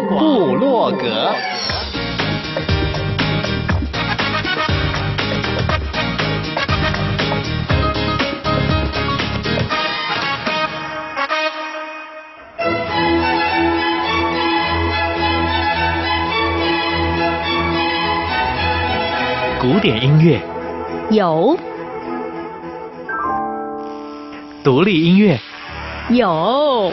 部落格。古典音乐有， 独立音乐有，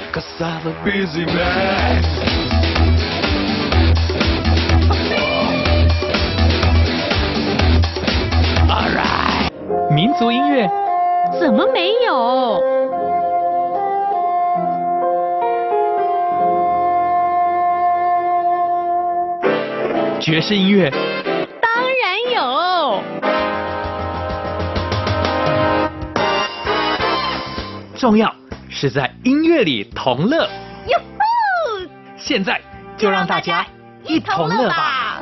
民族音乐怎么没有？ 爵士音乐当然有。 重要是在音乐里同乐。 哟呼！ 现在就让大家一同乐吧。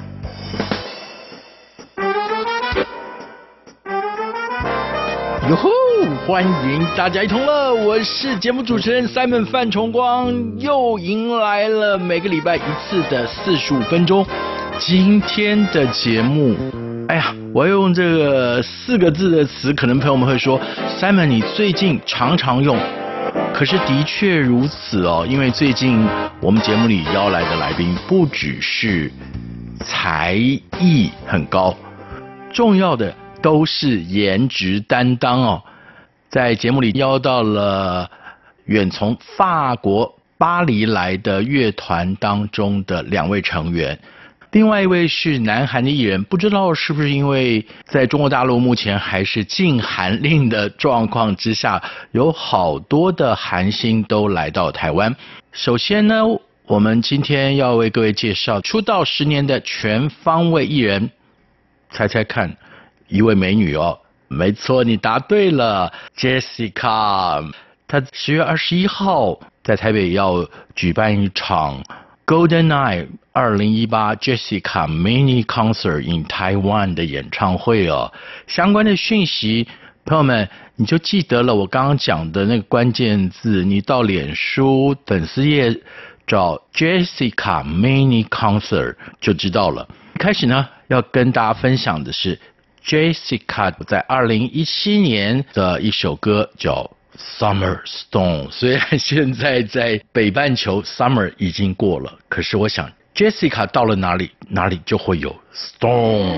哟吼！欢迎大家一同乐，我是节目主持人 Simon 范崇光，又迎来了每个礼拜一次的45分钟。今天的节目，哎呀，我要用这个4个字的词，可能朋友们会说 Simon 你最近常常用，可是的确如此哦，因为最近我们节目里邀来的来宾不只是才艺很高，重要的都是颜值担当哦。在节目里邀到了远从法国巴黎来的乐团当中的2位成员，另外一位是南韩的艺人，不知道是不是因为在中国大陆目前还是禁韩令的状况之下，有好多的韩星都来到台湾。首先呢，我们今天要为各位介绍出道10年的全方位艺人，猜猜看，一位美女哦。没错，你答对了 ，Jessica。她10月21号在台北要举办一场 Golden Eye 2018 Jessica Mini Concert in Taiwan 的演唱会哦。相关的讯息，朋友们你就记得了我刚刚讲的那个关键字，你到脸书粉丝页找 Jessica Mini Concert 就知道了。开始呢，要跟大家分享的是Jessica 在2017年的一首歌叫 Summer Storm， 虽然现在在北半球 Summer 已经过了，可是我想 Jessica 到了哪里，哪里就会有 Storm。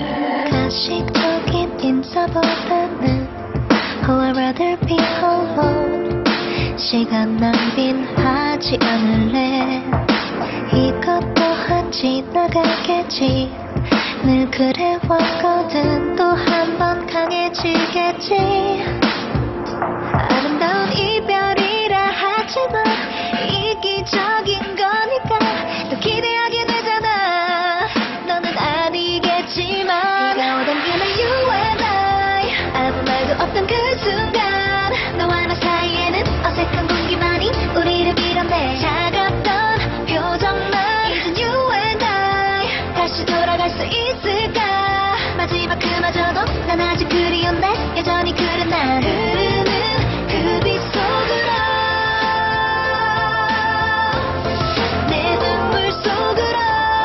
가식적인 인사보다는 Oh I'd rather be alone 시간 낭비하지 않을래 이것도 한 지나가겠지 늘 그래왔거든 또 한 번 강해지겠지 아름다운 이별이라 하지만 이기적인 거니까 또 기대하게 되잖아 너는 아니겠지만 네가 오던 그날 you and I 아무 말도 없던 그 순간 너와 나 사이에는 어색한 공기만이 우리를 밀어내 차갑던 표정만 이젠 you and I 다시 돌아갈 수 있을까 마지막 그마저도 난 아직 그리운데 여전히 그런 날 흐르는 그 빛 속으로 내 눈물 속으로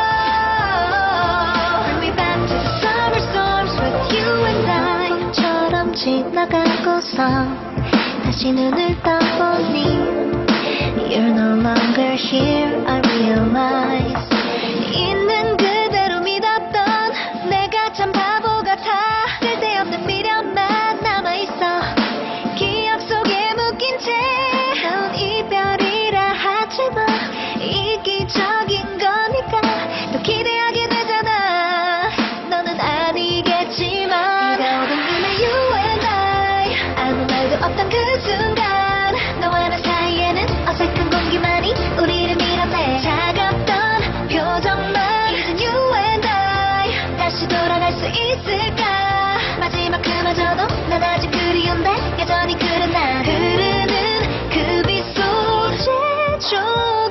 Bring me back to the summer storms with you and I 봄처럼 지나가고서 다시 눈을 떠보니 You're no longer here I realize 있는 그대로 믿었던 내가 참 바보 같아 쓸데없는 미련만 남아있어 기억 속에 묶인 채 넌 이별이라 하지만 이기적인 거니까 또 기대하게 되잖아 너는 아니겠지만 네가 오던 그날 you and I 아무 말도 없던 그 순간 너와 나 사이에는 어색한 공기만이 우리를 밀어내 차갑던 표정만 이젠 you and I 다시 돌아갈 수 있을까 마지막 그마저도 난 아직 그리운데 여전히 그런 날 흐르는 그 빛 속에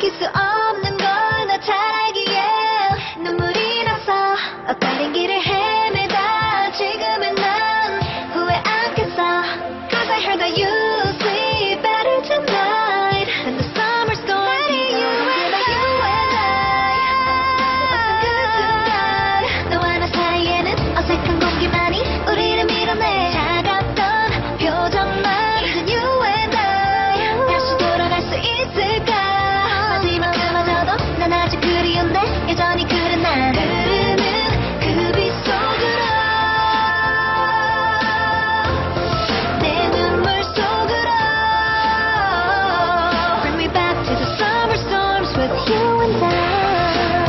지킬 수 없는 걸 너 찾기에 눈물이 나서 엇갈린 길을 헤매다 지금은 난 후회 않겠어 Cause I heard that you sleep better tonight than the summer storm Baby, you and I Wasn't good tonight 너와 나 사이에는 어색한 공기만이 우리를 밀어내 차갑던 표정만 이젠 you and I 다시 돌아갈 수 있을까 마지막 그마저도 난 아직 그리운데 여전히 그래 난 흐르는 그 빛 속으로 내 눈물 속으로 Bring me back to the summer storms with you and I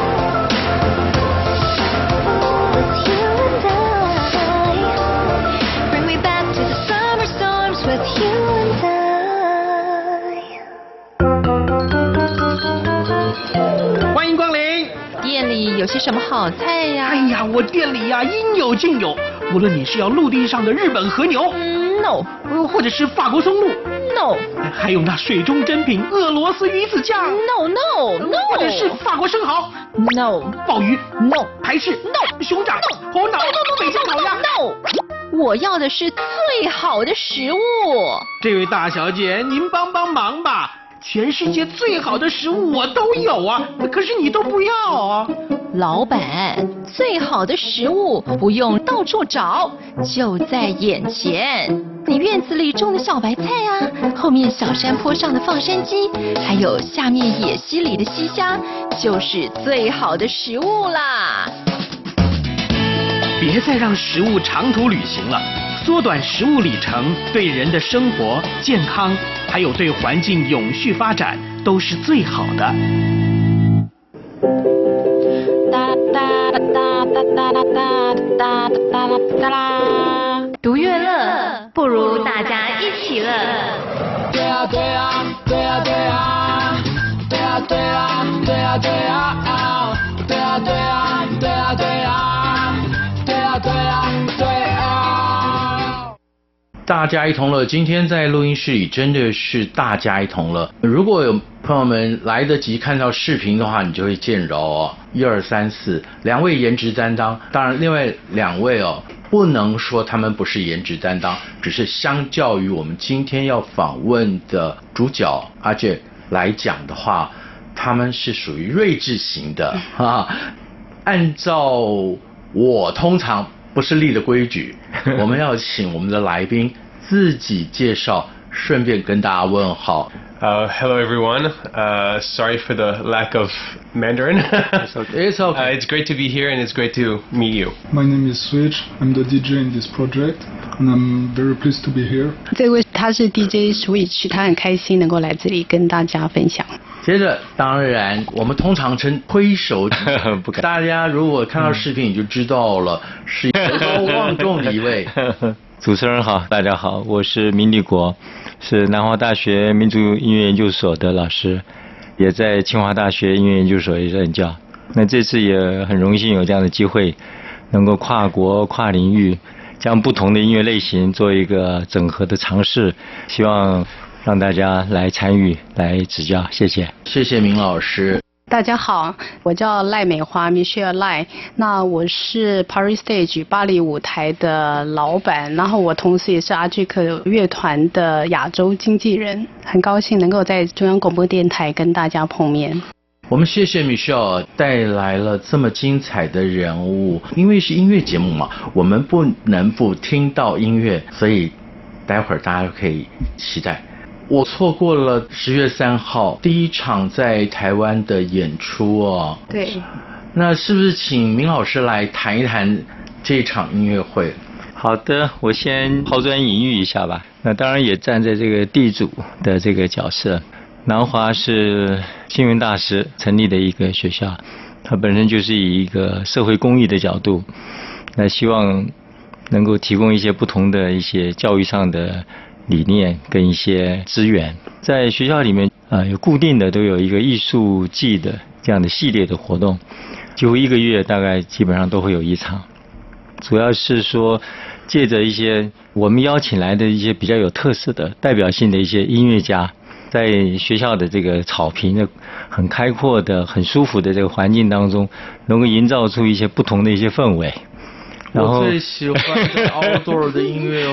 With you and I Bring me back to the summer storms with you and I 欢迎光临。 店里有些什么好菜呀？ 哎呀，我店里呀应有尽有，无论你是要陆地上的日本和牛， No 或者是法国松露， No 还有那水中珍品俄罗斯鱼子酱， No No 或者是 No 法国生蚝、 No 鲍鱼、 No 台式、 No 熊掌、猴脑、北京烤鸭。 No 我要的是最好的食物。 这位大小姐，您帮帮忙吧！全世界最好的食物我都有啊，可是你都不要啊。 老板，最好的食物不用到处找，就在眼前。你院子里种的小白菜啊，后面小山坡上的放山鸡，还有下面野溪里的溪虾，就是最好的食物啦。 别再让食物长途旅行了，缩短食物里程，对人的生活、健康，还有对环境永续发展都是最好的。 读乐乐，不如大家一起乐。 对啊对啊对啊对啊对啊对啊对啊对啊对啊对啊对啊对啊对啊对啊对啊。 大家一同乐，今天在录音室里真的是大家一同乐。如果有朋友们来得及看到视频的话，你就会见着哦，1、2、3、4，两位颜值担当。当然，另外两位哦，不能说他们不是颜值担当，只是相较于我们今天要访问的主角阿杰来讲的话，他们是属于睿智型的哈。按照我通常不是立的规矩，我们要请我们的来宾自己介绍，顺便跟大家问好。 Hello everyone. Sorry for the lack of Mandarin. It's okay. It's great to be here and it's great to meet you. My name is Switch. I'm the DJ in this project, and I'm very pleased to be here. 这位他是 DJ Switch， 他很开心能够来这里跟大家分享。 接着，当然我们通常称挥手，不敢。大家如果看到视频，你就知道了，是德高望重的一位。 主持人好，大家好，我是明立国，是南华大学民族音乐研究所的老师，也在清华大学音乐研究所也任教。那这次也很荣幸有这样的机会，能够跨国跨领域，将不同的音乐类型做一个整合的尝试，希望让大家来参与、来指教，谢谢。 谢谢明老师。 大家好，我叫赖美华 Michelle 赖，那我是 Paris Stage 巴黎舞台的老板，然后我同时也是阿巨克乐团的亚洲经纪人，很高兴能够在中央广播电台跟大家碰面。 我们谢谢 Michelle 带来了这么精彩的人物，因为是音乐节目嘛，我们不能不听到音乐，所以待会儿大家可以期待。我错过了10月3号第一场在台湾的演出哦。 对。 那是不是请明老师来谈一谈这场音乐会？ 好的，我先抛砖引玉一下吧。那当然也站在这个地主的这个角色。南华是星云大师成立的一个学校，它本身就是以一个社会公益的角度，那希望能够提供一些不同的一些教育上的理念跟一些资源。在学校里面有固定的都有一个艺术季的这样的系列的活动，几乎1个月大概基本上都会有一场，主要是说借着一些我们邀请来的一些比较有特色的代表性的一些音乐家，在学校的这个草坪的很开阔的、很舒服的这个环境当中，能够营造出一些不同的一些氛围。然后我最喜欢的 outdoor 的音乐会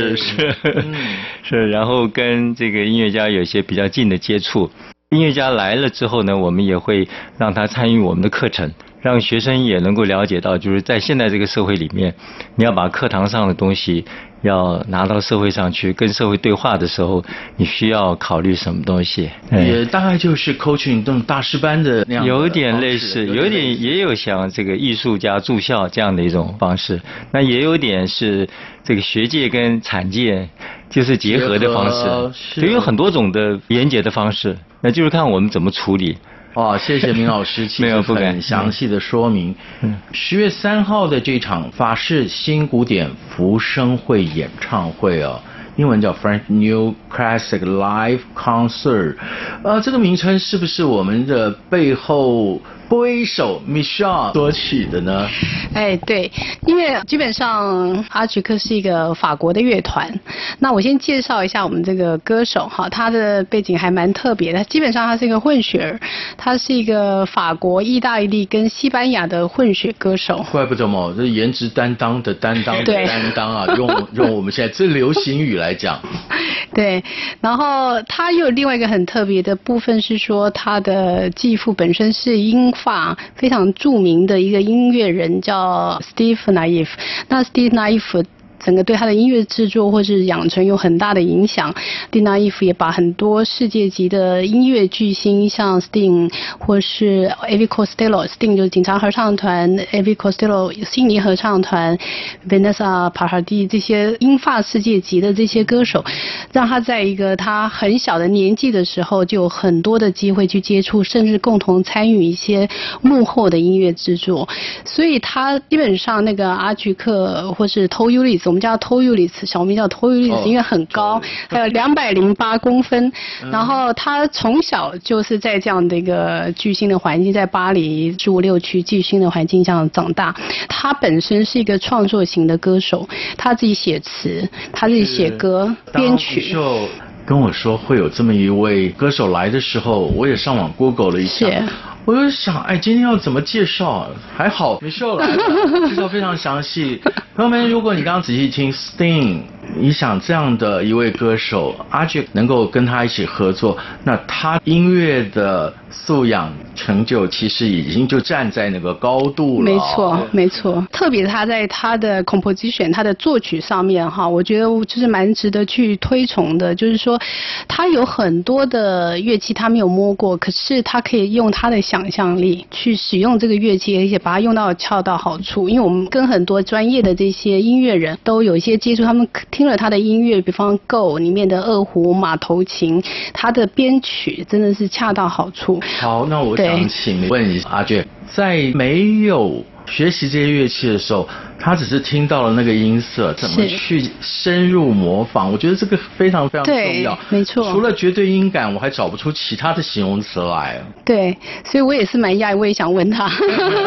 是，然后跟这个音乐家有一些比较近的接触。音乐家来了之后呢，我们也会让他参与我们的课程，让学生也能够了解到，就是在现在这个社会里面，你要把课堂上的东西要拿到社会上去，跟社会对话的时候，你需要考虑什么东西？ 也大概就是 coaching 这种大师班的那样的， 有点类似，有点也有像这个艺术家住校这样的一种方式，那也有点是这个学界跟产界就是结合的方式，就有很多种的连结的方式，那就是看我们怎么处理。 哦，谢谢明老师，其实很详细的说明。10月3号的这场法式新古典福生会演唱会哦，英文叫 French New Classic Live Concert。这个名称是不是我们的背后拨一手 Michelle 所取的呢？ 哎，对，因为基本上阿菊克是一个法国的乐团。那我先介绍一下我们这个歌手哈，他的背景还蛮特别的。基本上他是一个混血儿，他是一个法国、意大利跟西班牙的混血歌手。 怪不得嘛，这颜值担当的担当的担当啊，用我们现在最流行语来讲。 对，然后他又有另外一个很特别的部分是说，他的继父本身是英法非常著名的一个音乐人，叫 Steve Naif。那 Steve Naif整个对他的音乐制作或是养成有很大的影响。蒂娜伊夫也把很多世界级的音乐巨星，像 Sting 或是 Elvis Costello，Sting 就是警察合唱团 ，Elvis Costello 悉尼合唱团 ，Vanessa Paradis 这些英法世界级的这些歌手，让他在一个他很小的年纪的时候，就有很多的机会去接触，甚至共同参与一些幕后的音乐制作。所以他基本上那个阿菊克或是偷尤里斯，我们叫偷尤里斯，小名叫偷尤里斯，因为很高，还有208公分。然后他从小就是在这样的一个巨星的环境，在巴黎15、6区巨星的环境下长大。他本身是一个创作型的歌手，他自己写词，他自己写歌、编曲。 跟我说会有这么一位歌手来的时候，我也上网 Google 了一下。我就想，哎，今天要怎么介绍？还好Michelle来了，介绍非常详细。朋友们，如果你刚刚仔细听 Sting， 你想这样的一位歌手，阿菊能够跟他一起合作，那他音乐的素养成就其实已经就站在那个高度了。 没错，没错。特别他在他的 composition， 他的作曲上面哈，我觉得就是蛮值得去推崇的。就是说，他有很多的乐器他没有摸过，可是他可以用他的想象力去使用这个乐器，而且把它用到恰到好处。因为我们跟很多专业的这些音乐人都有一些接触，他们听了他的音乐，比方 Go 里面的二胡、马头琴，他的编曲真的是恰到好处。 好，那我想请问一下阿菊，在没有学习这些乐器的时候，他只是听到了那个音色，怎么去深入模仿？我觉得这个非常非常重要。 没错。 除了绝对音感，我还找不出其他的形容词来。 对，所以我也是蛮讶异，我也想问他。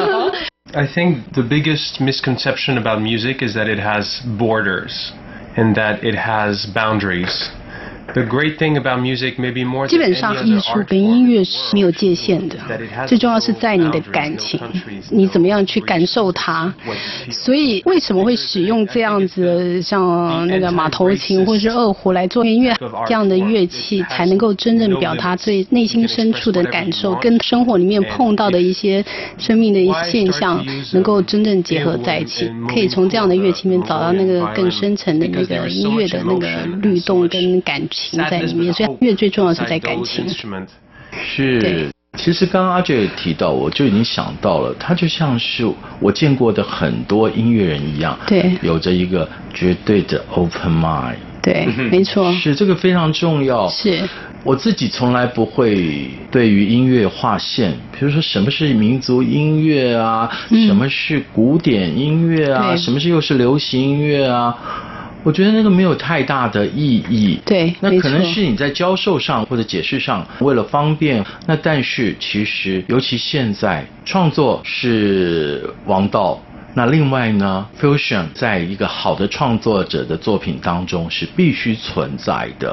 I think the biggest misconception about music is that it has borders and that it has boundaries.The great thing about music, maybe more than 基本上艺术跟音乐是没有界限的，最重要是在你的感情，你怎么样去感受它。所以为什么会使用这样子像那个马头琴或是二胡来做音乐，这样的乐器才能够真正表达最内心深处的感受，跟生活里面碰到的一些生命的现象能够真正结合在一起，可以从这样的乐器里面找到那个更深层的那个音乐的那个律动跟感情在里面，所以乐最重要是在感情。 是，其实刚刚阿菊提到，我就已经想到了，他就像是我见过的很多音乐人一样， 对， 有着一个绝对的 open mind。 对，没错， 是这个非常重要。 是， 我自己从来不会对于音乐划线，比如说什么是民族音乐啊，什么是古典音乐啊，什么是又是流行音乐啊。我觉得那个没有太大的意义。 对， 那可能是你在教授上或者解释上为了方便，那但是其实尤其现在创作是王道，那另外呢 fusion 在一个好的创作者的作品当中是必须存在的。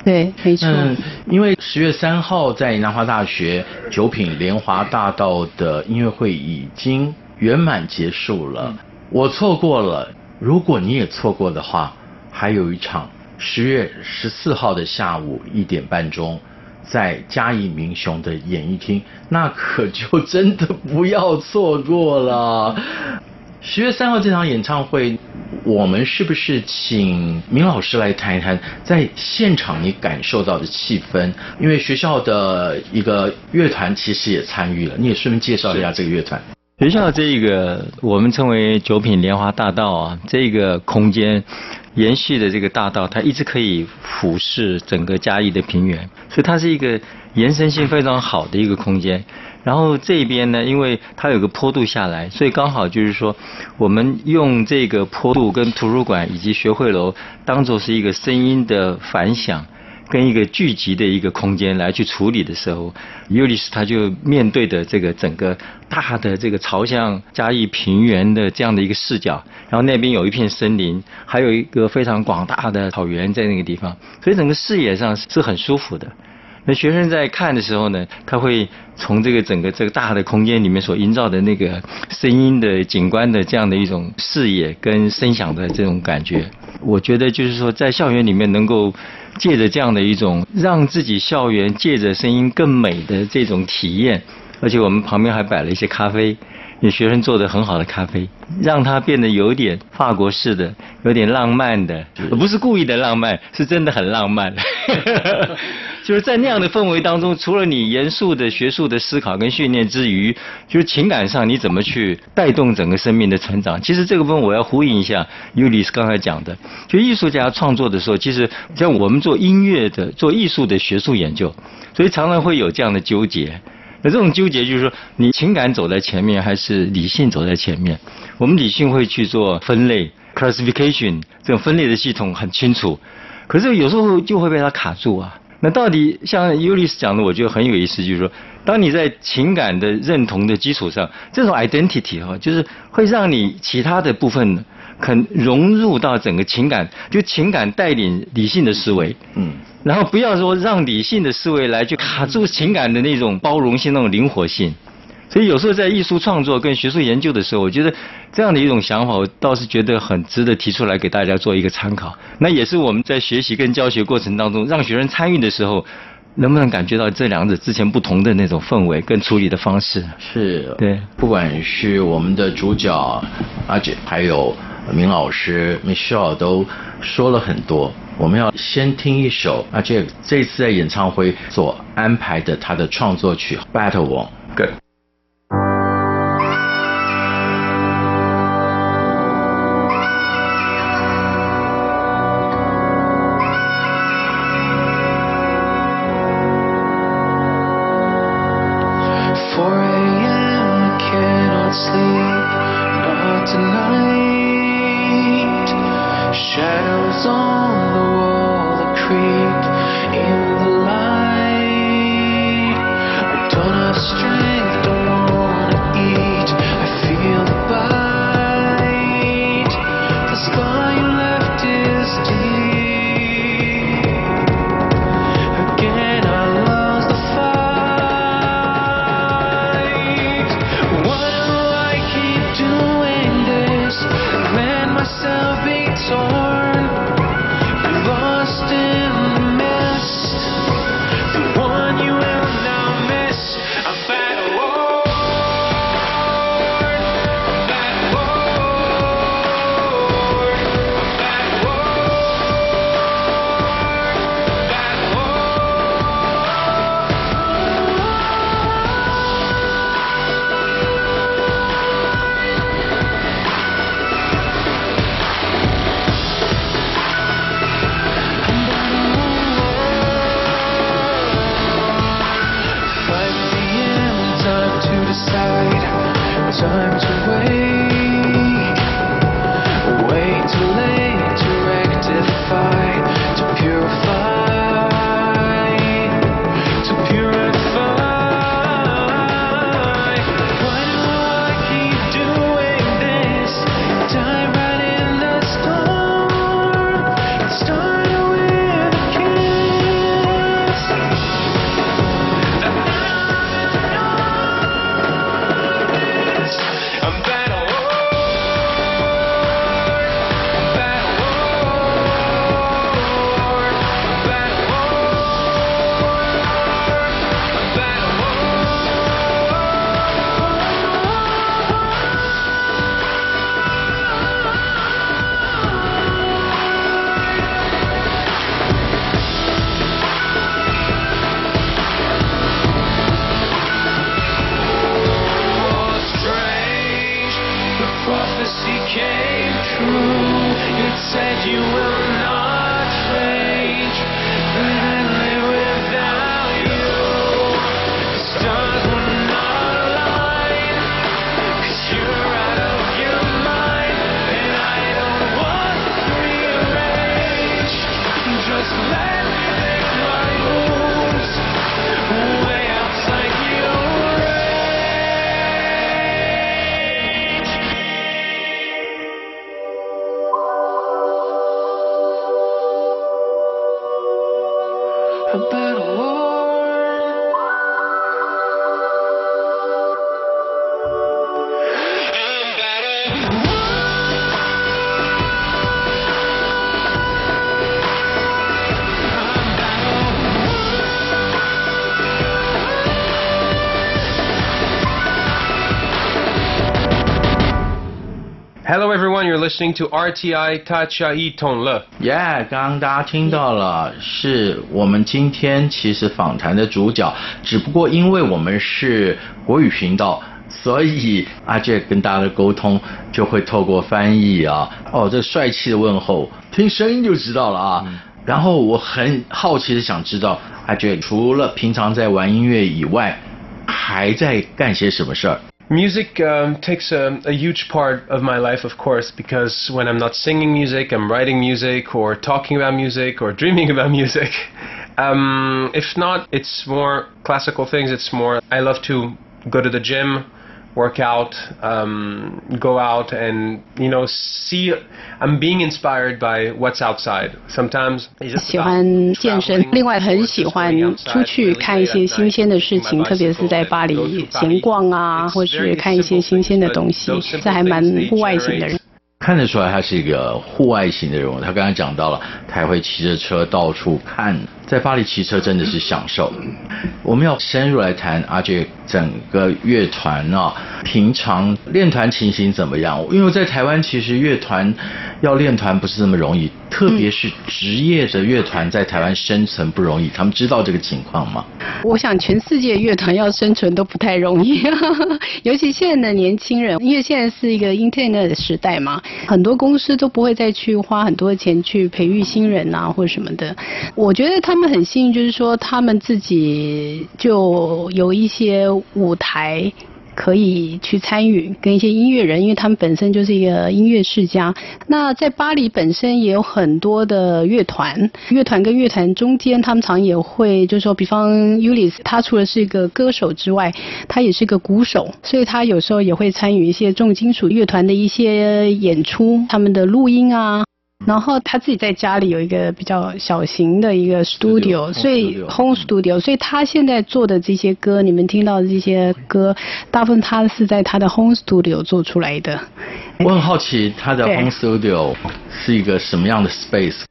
对，没错。 因为10月3号在南华大学九品莲华大道的音乐会已经圆满结束了，我错过了。如果你也错过的话，还有一场10月14号的下午1点半钟，在嘉义民雄的演艺厅，那可就真的不要错过了。10月3号这场演唱会，我们是不是请明老师来谈一谈在现场你感受到的气氛？因为学校的一个乐团其实也参与了，你也顺便介绍一下这个乐团。 学校这个我们称为九品莲华大道啊，这个空间延续的这个大道，它一直可以俯视整个嘉义的平原，所以它是一个延伸性非常好的一个空间。然后这边呢，因为它有个坡度下来，所以刚好就是说，我们用这个坡度跟图书馆以及学会楼当作是一个声音的反响跟一个聚集的一个空间来去处理的时候，尤里斯他就面对的这个整个大的这个朝向嘉义平原的这样的一个视角，然后那边有一片森林，还有一个非常广大的草原在那个地方，所以整个视野上是很舒服的。那学生在看的时候呢，他会从这个整个这个大的空间里面所营造的那个声音的景观的这样的一种视野跟声响的这种感觉，我觉得就是说在校园里面能够借着这样的一种让自己校园借着声音更美的这种体验，而且我们旁边还摆了一些咖啡，有学生做的很好的咖啡，让它变得有点法国式的，有点浪漫的，不是故意的浪漫，是真的很浪漫。就是在那样的氛围当中，除了你严肃的学术的思考跟训练之余，就是情感上你怎么去带动整个生命的成长。其实这个部分我要呼应一下尤里斯刚才讲的，就艺术家创作的时候，其实像我们做音乐的、做艺术的学术研究，所以常常会有这样的纠结。那这种纠结就是说，你情感走在前面还是理性走在前面？我们理性会去做分类 classification， 这种分类的系统很清楚，可是有时候就会被它卡住啊。那到底像尤里斯讲的，我觉得很有意思，就是说，当你在情感的认同的基础上，这种 identity 哈，就是会让你其他的部分肯融入到整个情感，就情感带领理性的思维，然后不要说让理性的思维来去卡住情感的那种包容性、那种灵活性。所以有时候在艺术创作跟学术研究的时候，我觉得这样的一种想法，我倒是觉得很值得提出来给大家做一个参考。那也是我们在学习跟教学过程当中，让学生参与的时候，能不能感觉到这两者之前不同的那种氛围跟处理的方式？ 是， 对， 不管是我们的主角阿姐，还有明老师 Michelle 都说了很多。我们要先听一首阿姐这次在演唱会所安排的他的创作曲《Battle Wall》。Good。 Doing this prophecy came true. It said you will not change, but I live without you. The stars will not align, 'cause you're out of your mind, and I don't want to rearrange. Just let me make my moves way outside your range. About a war, about a war. Hello everyone, you're listening to RTI 大家一同乐。 刚刚大家听到了，是我们今天其实访谈的主角，只不过因为我们是国语频道，所以阿杰跟大家的沟通就会透过翻译啊。这帅气的问候，听声音就知道了啊。然后我很好奇的想知道，阿杰除了平常在玩音乐以外，还在干些什么事儿 Music takes a huge part of my life, of course, because when I'm not singing music, I'm writing music or talking about music or dreaming about music. If not, it's more classical things. It's more, I love to go to the gym, work out, go out and, see, I'm being inspired by what's outside. Sometimes 喜欢健身，另外很喜欢出去看一些新鲜的事情，特别是在巴黎闲逛啊，或是看一些新鲜的东西，这还蛮户外型的人。 看得出来他是一个户外型的人物，他刚才讲到了，他还会骑着车到处看，在巴黎骑车真的是享受。我们要深入来谈阿杰整个乐团啊，平常练团情形怎么样？因为在台湾其实乐团要练团不是这么容易，特别是职业的乐团在台湾生存不容易，他们知道这个情况吗？ 我想全世界乐团要生存都不太容易，尤其现在的年轻人，因为现在是一个 Internet 的时代嘛，很多公司都不会再去花很多钱去培育新人啊或什么的。我觉得他们很幸运，就是说他们自己就有一些舞台可以去参与，跟一些音乐人，因为他们本身就是一个音乐世家。那在巴黎本身也有很多的乐团，乐团跟乐团中间，他们常也会，就是说，比方 Ulysse， 他除了是一个歌手之外，他也是个鼓手，所以他有时候也会参与一些重金属乐团的一些演出，他们的录音啊。然后他自己在家里有一个比较小型的一个 studio， 所以 home studio， 所以他现在做的这些歌，你们听到的这些歌，大部分他是在他的 home studio 做出来的。 我很好奇他的 home studio 是一个什么样的 space？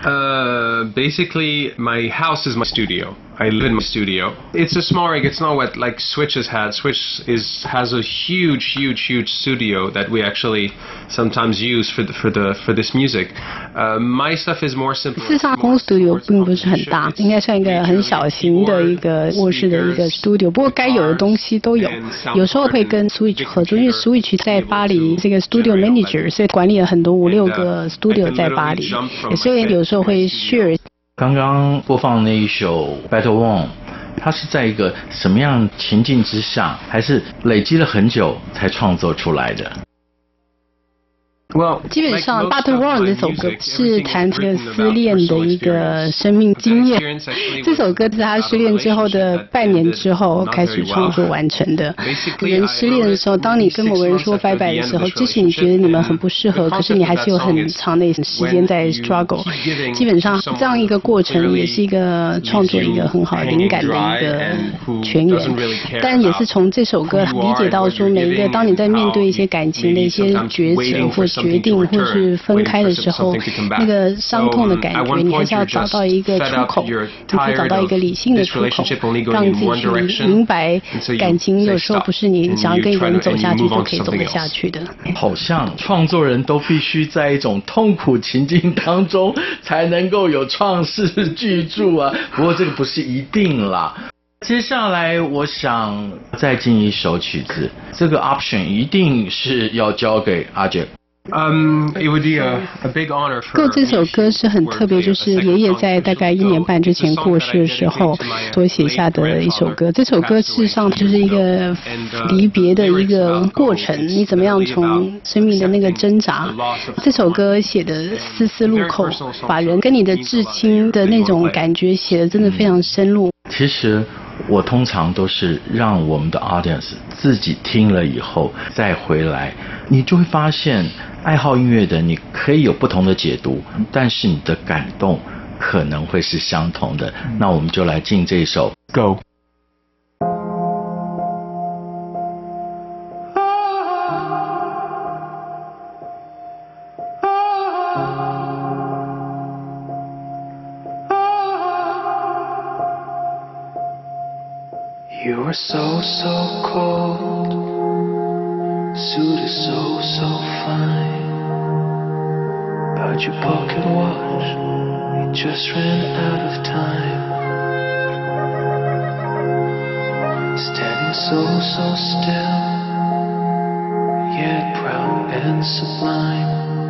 Basically, my house is my studio. I live in my studio. It's a small rig. It's not what like Switch has had. Switch has a huge studio that we actually sometimes use for this music. My stuff is more simple. 事实上 home studio 并不是很大，应该算一个很小型的一个卧室的一个 studio。不过该有的东西都有，有时候会跟 Switch 合作，因为 Switch 在巴黎这个 studio manager， 所以管理了很多5-6个 studio 在巴黎，所以有时候会 share。 刚刚播放那一首 Battle One， 它是在一个什么样情境之下，还是累积了很久才创作出来的？ 基本上《Battle One》这首歌是谈这个失恋的一个生命经验。这首歌是他失恋之后的半年之后开始创作完成的。人失恋的时候，当你跟某个人说拜拜的时候，即使你觉得你们很不适合，可是你还是有很长的时间在 struggle。基本上这样一个过程也是一个创作一个很好的灵感的一个泉源。但也是从这首歌理解到说，每一个当你在面对一些感情的一些抉择或决定或是分开的时候，那个伤痛的感觉，你还是要找到一个出口，你可以找到一个理性的出口，让自己去明白感情有时候不是你想要跟一个人走下去就可以走得下去的。 好像创作人都必须在一种痛苦情境当中才能够有创世巨著啊，不过这个不是一定啦。 接下来我想再进一首曲子，这个 option 一定是要交给阿杰。 It would be a big honor for 歌这首歌是很特别，就是爷爷在大概1年半之前过世的时候所写下的一首歌。这首歌事实上就是一个离别的一个过程，你怎么样从生命的那个挣扎。这首歌写的丝丝入扣，把人跟你的至亲的那种感觉写的真的非常深入。 其实我通常都是让我们的 audience 自己听了以后再回来，你就会发现爱好音乐的你可以有不同的解读，但是你的感动可能会是相同的。那我们就来进这首 Go。 You are so, so cold. Suit is so, so fine. But your pocket watch, it just ran out of time. Standing so, so still, yet proud and sublime.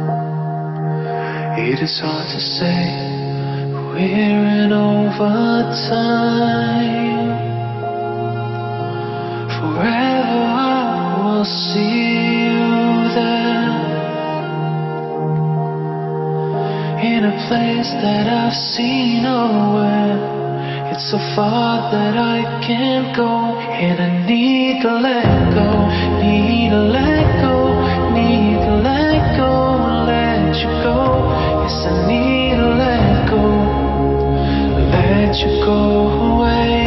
It is hard to say, we're in overtime. Forever I will see you there, in a place that I've seen nowhere. It's so far that I can't go, and I need to let go, need to let go, need to let go, let you go. Yes, I need to let go, let you go away.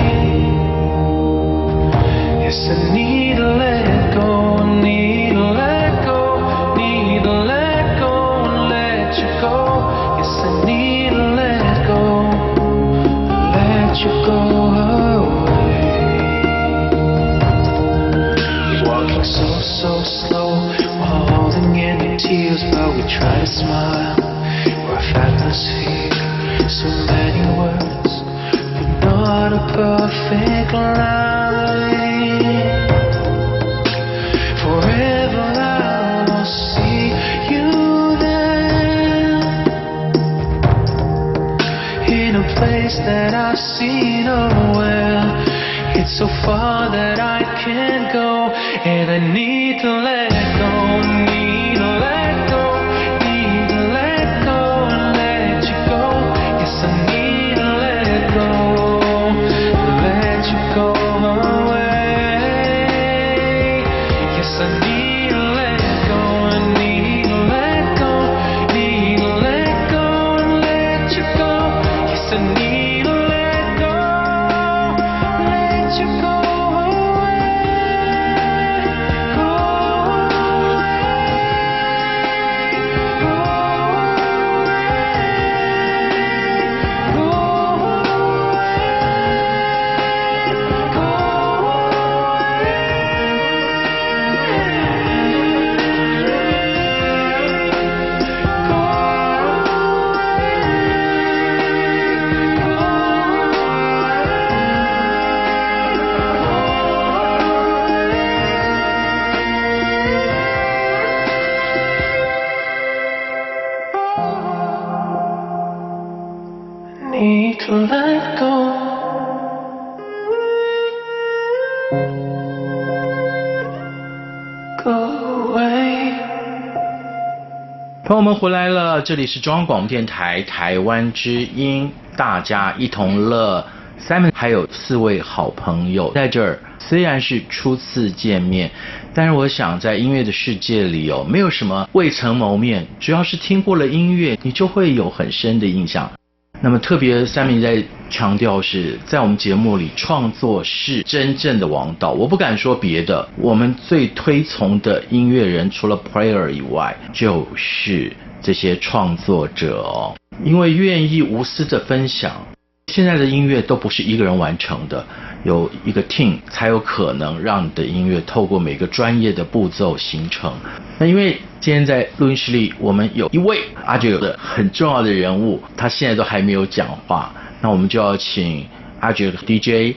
Yes, I need to let go, need to let go, need to let go, let you go. Yes, I need to let go, let you go away. Walking so, so slow, while holding in your tears, but we try to smile. We're fabulous here, so many words, but not a perfect line. Forever I will see you there, in a place that I've seen nowhere. It's so far that I can't go, and I need to let go, need to let go, need to let go, let you go. Yes, I need to let go, let you go away. Yes, I need to let go, I need to let go, need to let go, let you go. Yes, I need to let go, let you go away, go away, go away, go need to let go. Go away. 朋友们回来了，这里是中央广播电台台湾之音，大家一同乐。Simon 还有4位好朋友在这儿，虽然是初次见面，但是我想在音乐的世界里哦，没有什么未曾谋面，只要是听过了音乐，你就会有很深的印象。那么特别Simon在强调是在我们节目里，创作是真正的王道。我不敢说别的，我们最推崇的音乐人除了 player 以外，就是这些创作者哦，因为愿意无私的分享。现在的音乐都不是一个人完成的，有一个 team 才有可能让你的音乐透过每个专业的步骤形成。那因为今天在录音室里，我们有一位阿杰的很重要的人物，他现在都还没有讲话，那我们就要请阿杰 DJ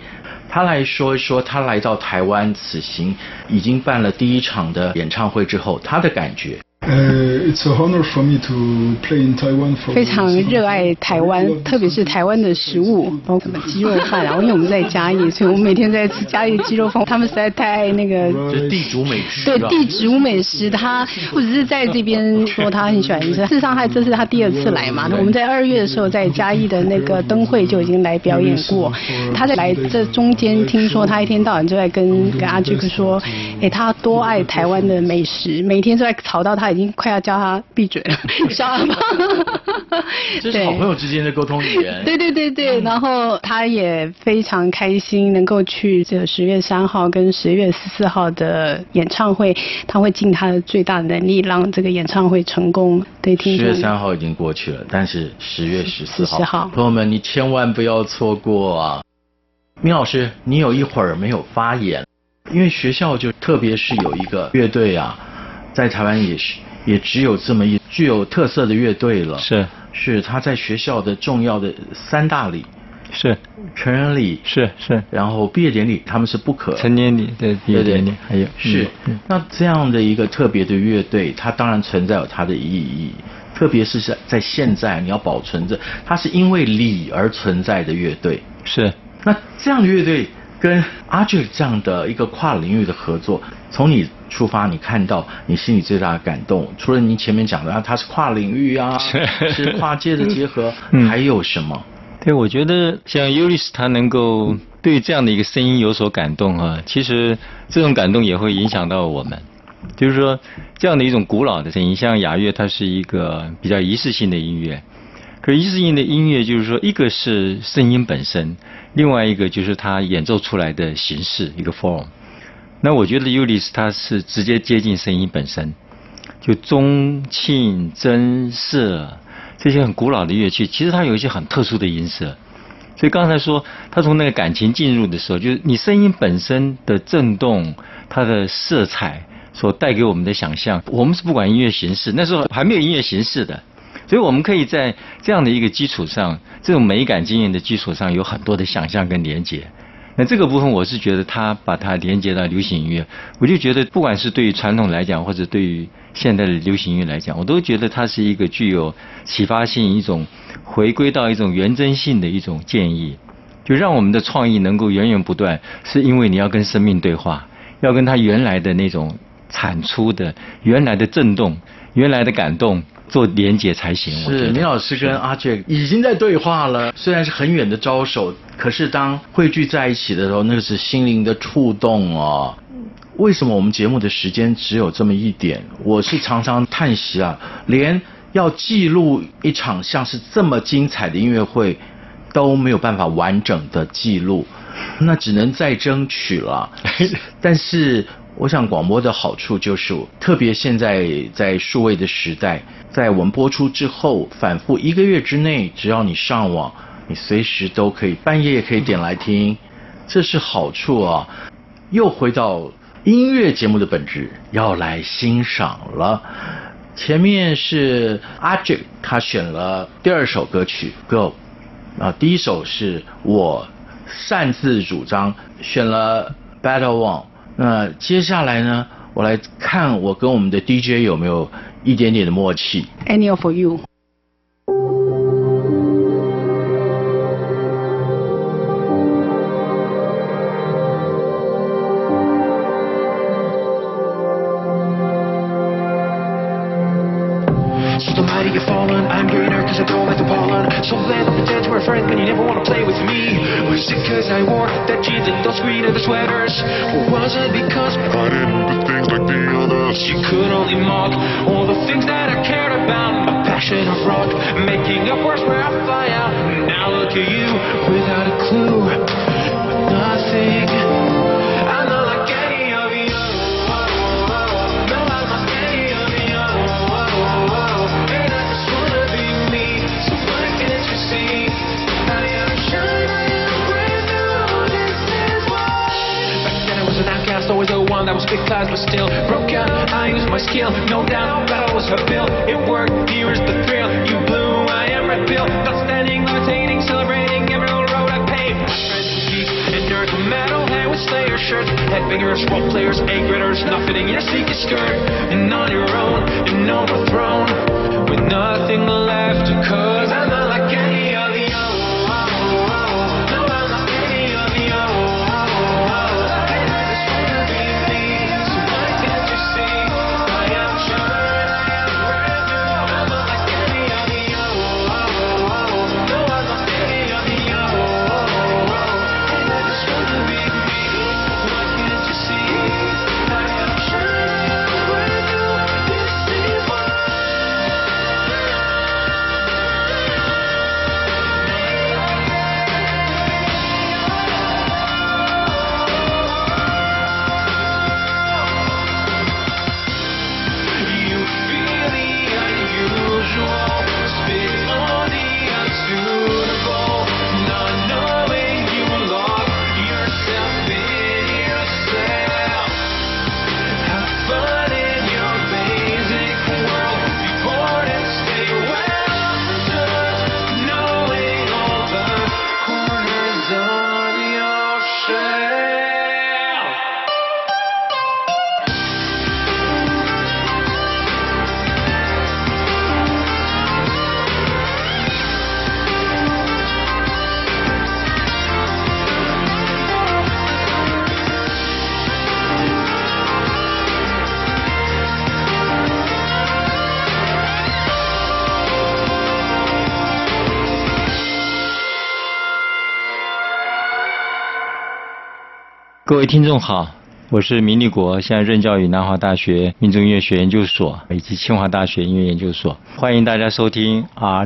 他来说一说他来到台湾此行已经办了第一场的演唱会之后他的感觉。 It's a honor for me to play in Taiwan for 非常热爱台湾，特别是台湾的食物，包括什么鸡肉饭啊。因为我们在嘉义，所以我们每天在吃嘉义鸡肉饭。他们实在太爱那个， 就是地主美食。 对，地主美食，他不只是在这边说他很喜欢吃，事实上这是他第2次来嘛。我们在2月的时候在嘉义的那个灯会就已经来表演过。他在来这中间，听说他一天到晚就在跟阿巨哥说，他多爱台湾的美食，每天都在吵到他已经快要叫他闭嘴了，小阿爸。 这是好朋友之间的沟通语言。 对，然后他也非常开心能够去这个10月3号跟10月14号的演唱会，他会尽他的最大的能力让这个演唱会成功。对，听说10 月3号已经过去了，但是10月14号，朋友们你千万不要错过啊！明老师，你有一会儿没有发言，因为学校就特别是有一个乐队啊，在台湾也只有这么一具有特色的乐队了。是他在学校的重要的3大礼，是成人礼，是，然后毕业典礼，他们是不可成年礼，对，毕业典礼还有是。那这样的一个特别的乐队，它当然存在有它的意义，特别是在现在你要保存着，它是因为礼而存在的乐队。是。那这样的乐队跟阿俊这样的一个跨领域的合作，从你出发，你看到你心里最大的感动，除了你前面讲的它是跨领域啊，是跨界的结合，还有什么？ 对，我觉得像 Ulyss 他能够对这样的一个声音有所感动啊，其实这种感动也会影响到我们。就是说，这样的一种古老的声音，像雅乐，它是一个比较仪式性的音乐。可是仪式性的音乐，就是说，一个是声音本身，另外一个就是它演奏出来的形式，一个 form。那我觉得 Ulyss 它是直接接近声音本身，就中磬、筝、瑟这些很古老的乐器，其实它有一些很特殊的音色。所以刚才说，他从那个感情进入的时候，就是你声音本身的震动，它的色彩所带给我们的想象。我们是不管音乐形式，那时候还没有音乐形式的，所以我们可以在这样的一个基础上，这种美感经验的基础上，有很多的想象跟连结。那这个部分我是觉得他把它连接到流行音乐，我就觉得不管是对于传统来讲，或者对于现代的流行音乐来讲，我都觉得它是一个具有启发性、一种回归到一种原真性的一种建议，就让我们的创意能够源源不断，是因为你要跟生命对话，要跟它原来的那种产出的原来的震动、原来的感动做连结才行。 是，林老师跟阿杰已经在对话了，虽然是很远的招手，可是当汇聚在一起的时候，那个是心灵的触动哦。为什么我们节目的时间只有这么一点？我是常常叹息啊，连要记录一场像是这么精彩的音乐会都没有办法完整的记录，那只能再争取了。但是我想广播的好处就是，特别现在在数位的时代，在我们播出之后反复1个月之内，只要你上网，你随时都可以，半夜也可以点来听，这是好处啊。又回到音乐节目的本质，要来欣赏了。前面是阿杰他选了第2首歌曲 Go， 第1首是我擅自主张选了 Better One。那接下来呢，我来看我跟我们的 DJ 有没有一点点的默契。 Any for you。 So the mighty have fallen, I'm greener cause I don't like the pollen. So glad to pretend we're friends when you never wanna play with me. Was it cause I wore that jeans and those greener the sweaters? Or was it because I didn't do things like the others? You could only mock all the things that I cared about. My passion of rock, making up words where I fly out. Now look at you, without a clue, with nothing. I'm not like any of you. No, I'm not any of you. And I just wanna be me. So why can't you see? I am sure I am brand new. This is why. Back then I was an outcast, always the one that was big class, but still broke out. I used my skill, no doubt that I was her bill. It worked, here's the thrill. You blew, I am red pill. Not standing, levitating, celebrating every little road I paved. My friends were geeks and nerds were mad. shirts, head bangers, role players, A-graders, nothing in your sneaker skirt. And on your own, and overthrown, with nothing left, 'cause I'm not like any of the others. No, I'm not any of the others. I just wanna be me, so why can't you see? I am trying, I am brand new. I'm not like any of the others. No, I'm not any of the others. I just wanna be me, why can't you see? I am trying, I am brand new. This is why. You feel the unusual, spit on the unsuitable, not knowing you lock yourself in yourself. Have fun in your basic world, be bored and stay well, just knowing all the corners of your shell. 各位听众好，我是明立国，现在任教于南华大学民族音乐学研究所以及清华大学音乐研究所，欢迎大家收听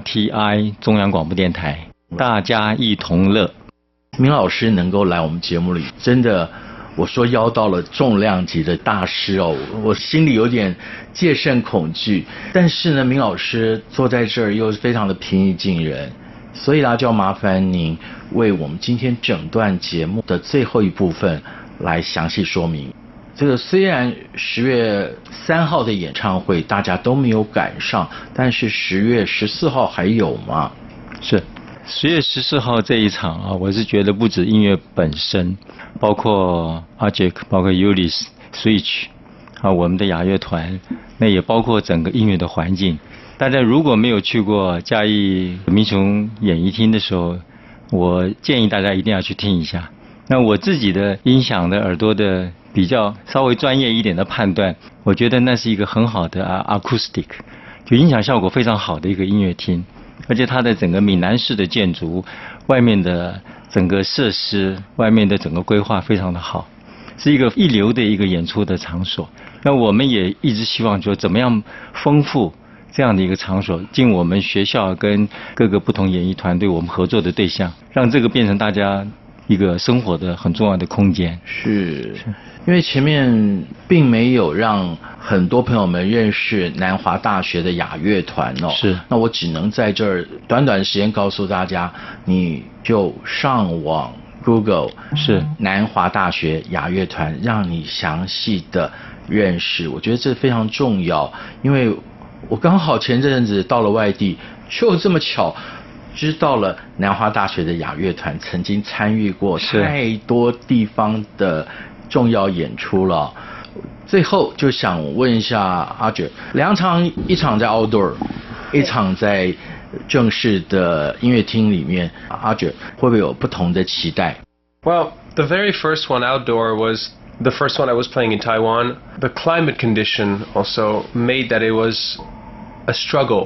RTI 中央广播电台，大家一同乐。 明老师能够来我们节目里，真的，我说邀到了重量级的大师哦，我心里有点戒慎恐惧。但是呢，明老师坐在这儿又非常的平易近人，所以呢，就要麻烦您为我们今天整段节目的最后一部分来详细说明。这个虽然10月3号的演唱会大家都没有赶上，但是10月14号还有吗？ 是10月14号这一场啊，我是觉得不止音乐本身，包括 Ajik， 包括 Ulyss、Switch 啊，我们的雅乐团，那也包括整个音乐的环境。大家如果没有去过嘉义民雄演艺厅的时候，我建议大家一定要去听一下。那我自己的音响的耳朵的比较稍微专业一点的判断，我觉得那是一个很好的acoustic， 就音响效果非常好的一个音乐厅，而且它的整个闽南式的建筑，外面的整个设施，外面的整个规划非常的好，是一个一流的一个演出的场所。那我们也一直希望说怎么样丰富这样的一个场所，尽我们学校跟各个不同演艺团队我们合作的对象，让这个变成大家一个生活的很重要的空间。 是因为前面并没有让很多朋友们认识南华大学的雅乐团哦， 是， 那我只能在这儿短短的时间告诉大家，你就上网 Google 是南华大学雅乐团，让你详细的认识。我觉得这非常重要，因为我刚好前阵子到了外地，就这么巧知道了南华大学的雅乐团曾经参与过太多地方的重要演出了。最后就想问一下阿哲，两场，一场在 outdoor， 一场在正式的音乐厅里面，阿哲会不会有不同的期待？ Well, the very first one outdoor was the first one I was playing in Taiwan. The climate condition also made that it was a struggle.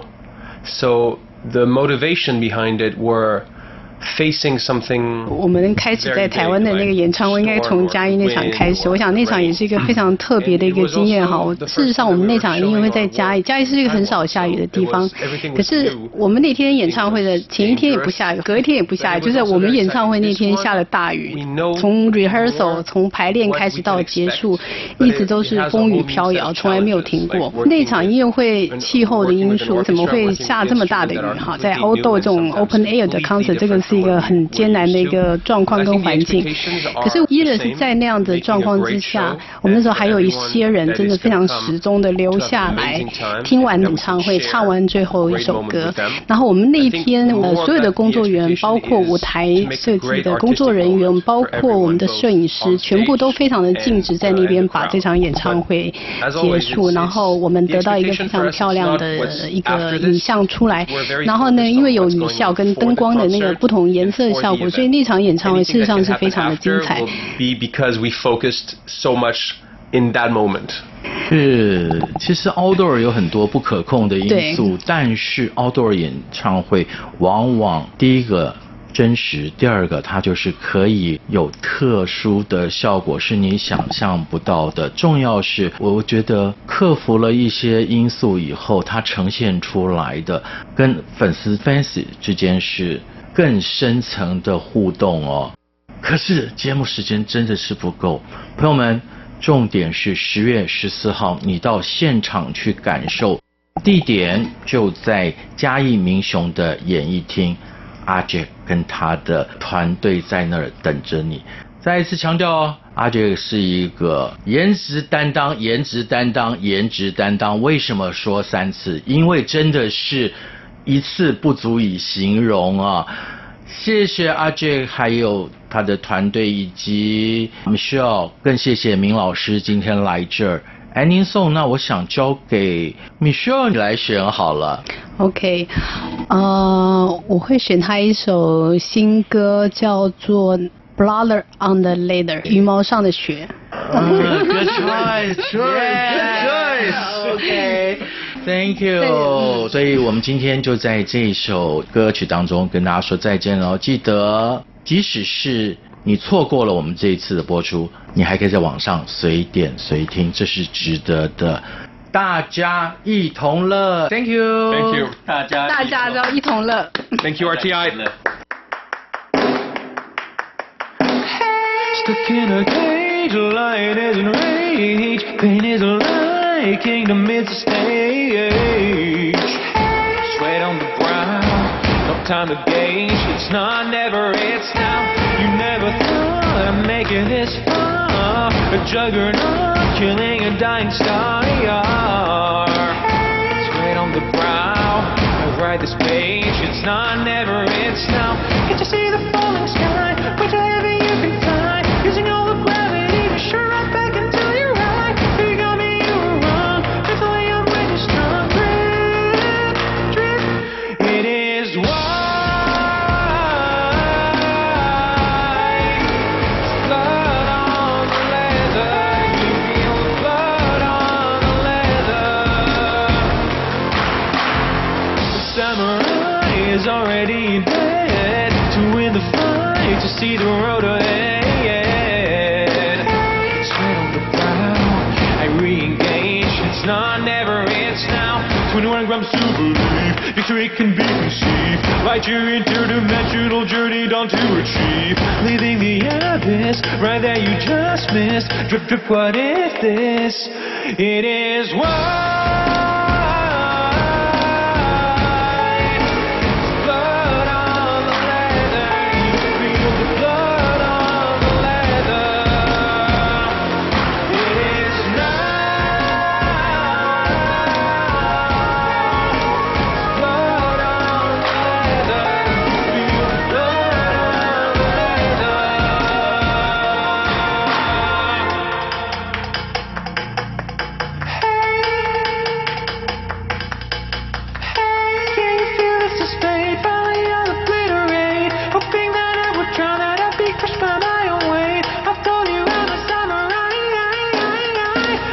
So the motivation behind it were facing something. 我们开始在台湾的那个演唱会，应该从嘉义那场开始。我想那场也是一个非常特别的一个经验哈。事实上，我们那场音乐会在嘉义，嘉义是一个很少下雨的地方。可是我们那天演唱会的前一天也不下雨，隔一天也不下雨，就是我们演唱会那天下了大雨。从 rehearsal 从排练开始到结束，一直都是风雨飘摇，从来没有停过。那场音乐会气候的因素，怎么会下这么大的雨哈？在outdoor这种 open air 的 concert， 这个是一个很艰难的一个状况跟环境。可是依然是在那样的状况之下，我们那时候还有一些人真的非常始终的留下来，听完演唱会，唱完最后一首歌。然后我们那一天所有的工作人员，包括舞台设计的工作人员，包括我们的摄影师，全部都非常的尽职在那边把这场演唱会结束。然后我们得到一个非常漂亮的一个影像出来。然后呢，因为有雨效跟灯光的那个不同颜色的效果，所以那场演唱会事实上是非常的精彩。 Because we focused so much in that moment. 是，其实 outdoor 有很多不可控的因素，但是 outdoor 演唱会往往第一个真实，第二个它就是可以有特殊的效果，是你想象不到的。重要是我觉得克服了一些因素以后，它呈现出来的跟粉丝 fans 之间是更深层的互动哦。可是节目时间真的是不够，朋友们，重点是10月14号你到现场去感受，地点就在嘉义民雄的演艺厅，阿杰跟他的团队在那儿等着你。再一次强调哦，阿杰是一个颜值担当，颜值担当，颜值担当。为什么说3次？因为真的是一次不足以形容啊。谢谢阿杰，还有他的团队以及 Michelle， 更谢谢明老师今天来这儿。Ending song， 那我想交给 Michelle 你来选好了。 OK， 我会选他一首新歌，叫做 Blood on the Leather， 羽毛上的雪。 Good choice， good choice。OK。Thank you。所以我们今天就在这首歌曲当中跟大家说再见了。记得，即使是你错过了我们这一次的播出，你还可以在网上随点随听，这是值得的。大家一同乐 ，Thank you，Thank you， 大家都一同乐 ，Thank you RTI。 Stuck in a cage, light is in rage, pain is a lie, kingdom is a stage. Sweat on the brow, no time to gauge, it's not, never, it's now. You never thought I'd make it this far, a juggernaut, killing a dying star. Sweat on the brow, I write this page, it's not, never, it's now. Can't you see the falling sky, way too heavy you can fly, using all the gravity to sure right back until you're right. You got me, you were wrong, that's the way I'm ready, strong. Drip, it is white. Blood on the leather, you feel the blood on the leather. The samurai is already dead, to win the fight, to see the road ahead. Sweat on the brow, I re-engage, it's not, never, it's now. 21 grams to believe, victory can be conceived. Light your interdimensional journey down to achieve. Leaving the abyss, right there you just missed. Drip, drip, what is this? It is white. Blood on the leather, you feel the blood on the leather. It is night. Blood on the leather, you feel the blood on the leather. Can you feel this display? Finally on obliterate, hoping that I would drown, that I'd be crushed by my own weight. I've told you I'm a samurai,